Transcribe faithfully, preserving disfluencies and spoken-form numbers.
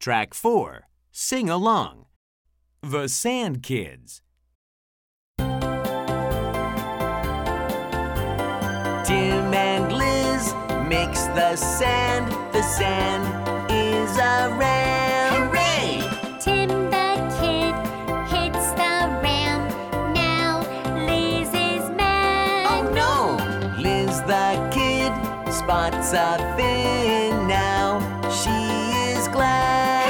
Track four. Sing along. The Sand Kids. Tim and Liz mix the sand. The sand is a ram. Hooray! Tim the kid hits the ram. Now Liz is mad. Oh no! Liz the kid spots a fin. Now she is glad.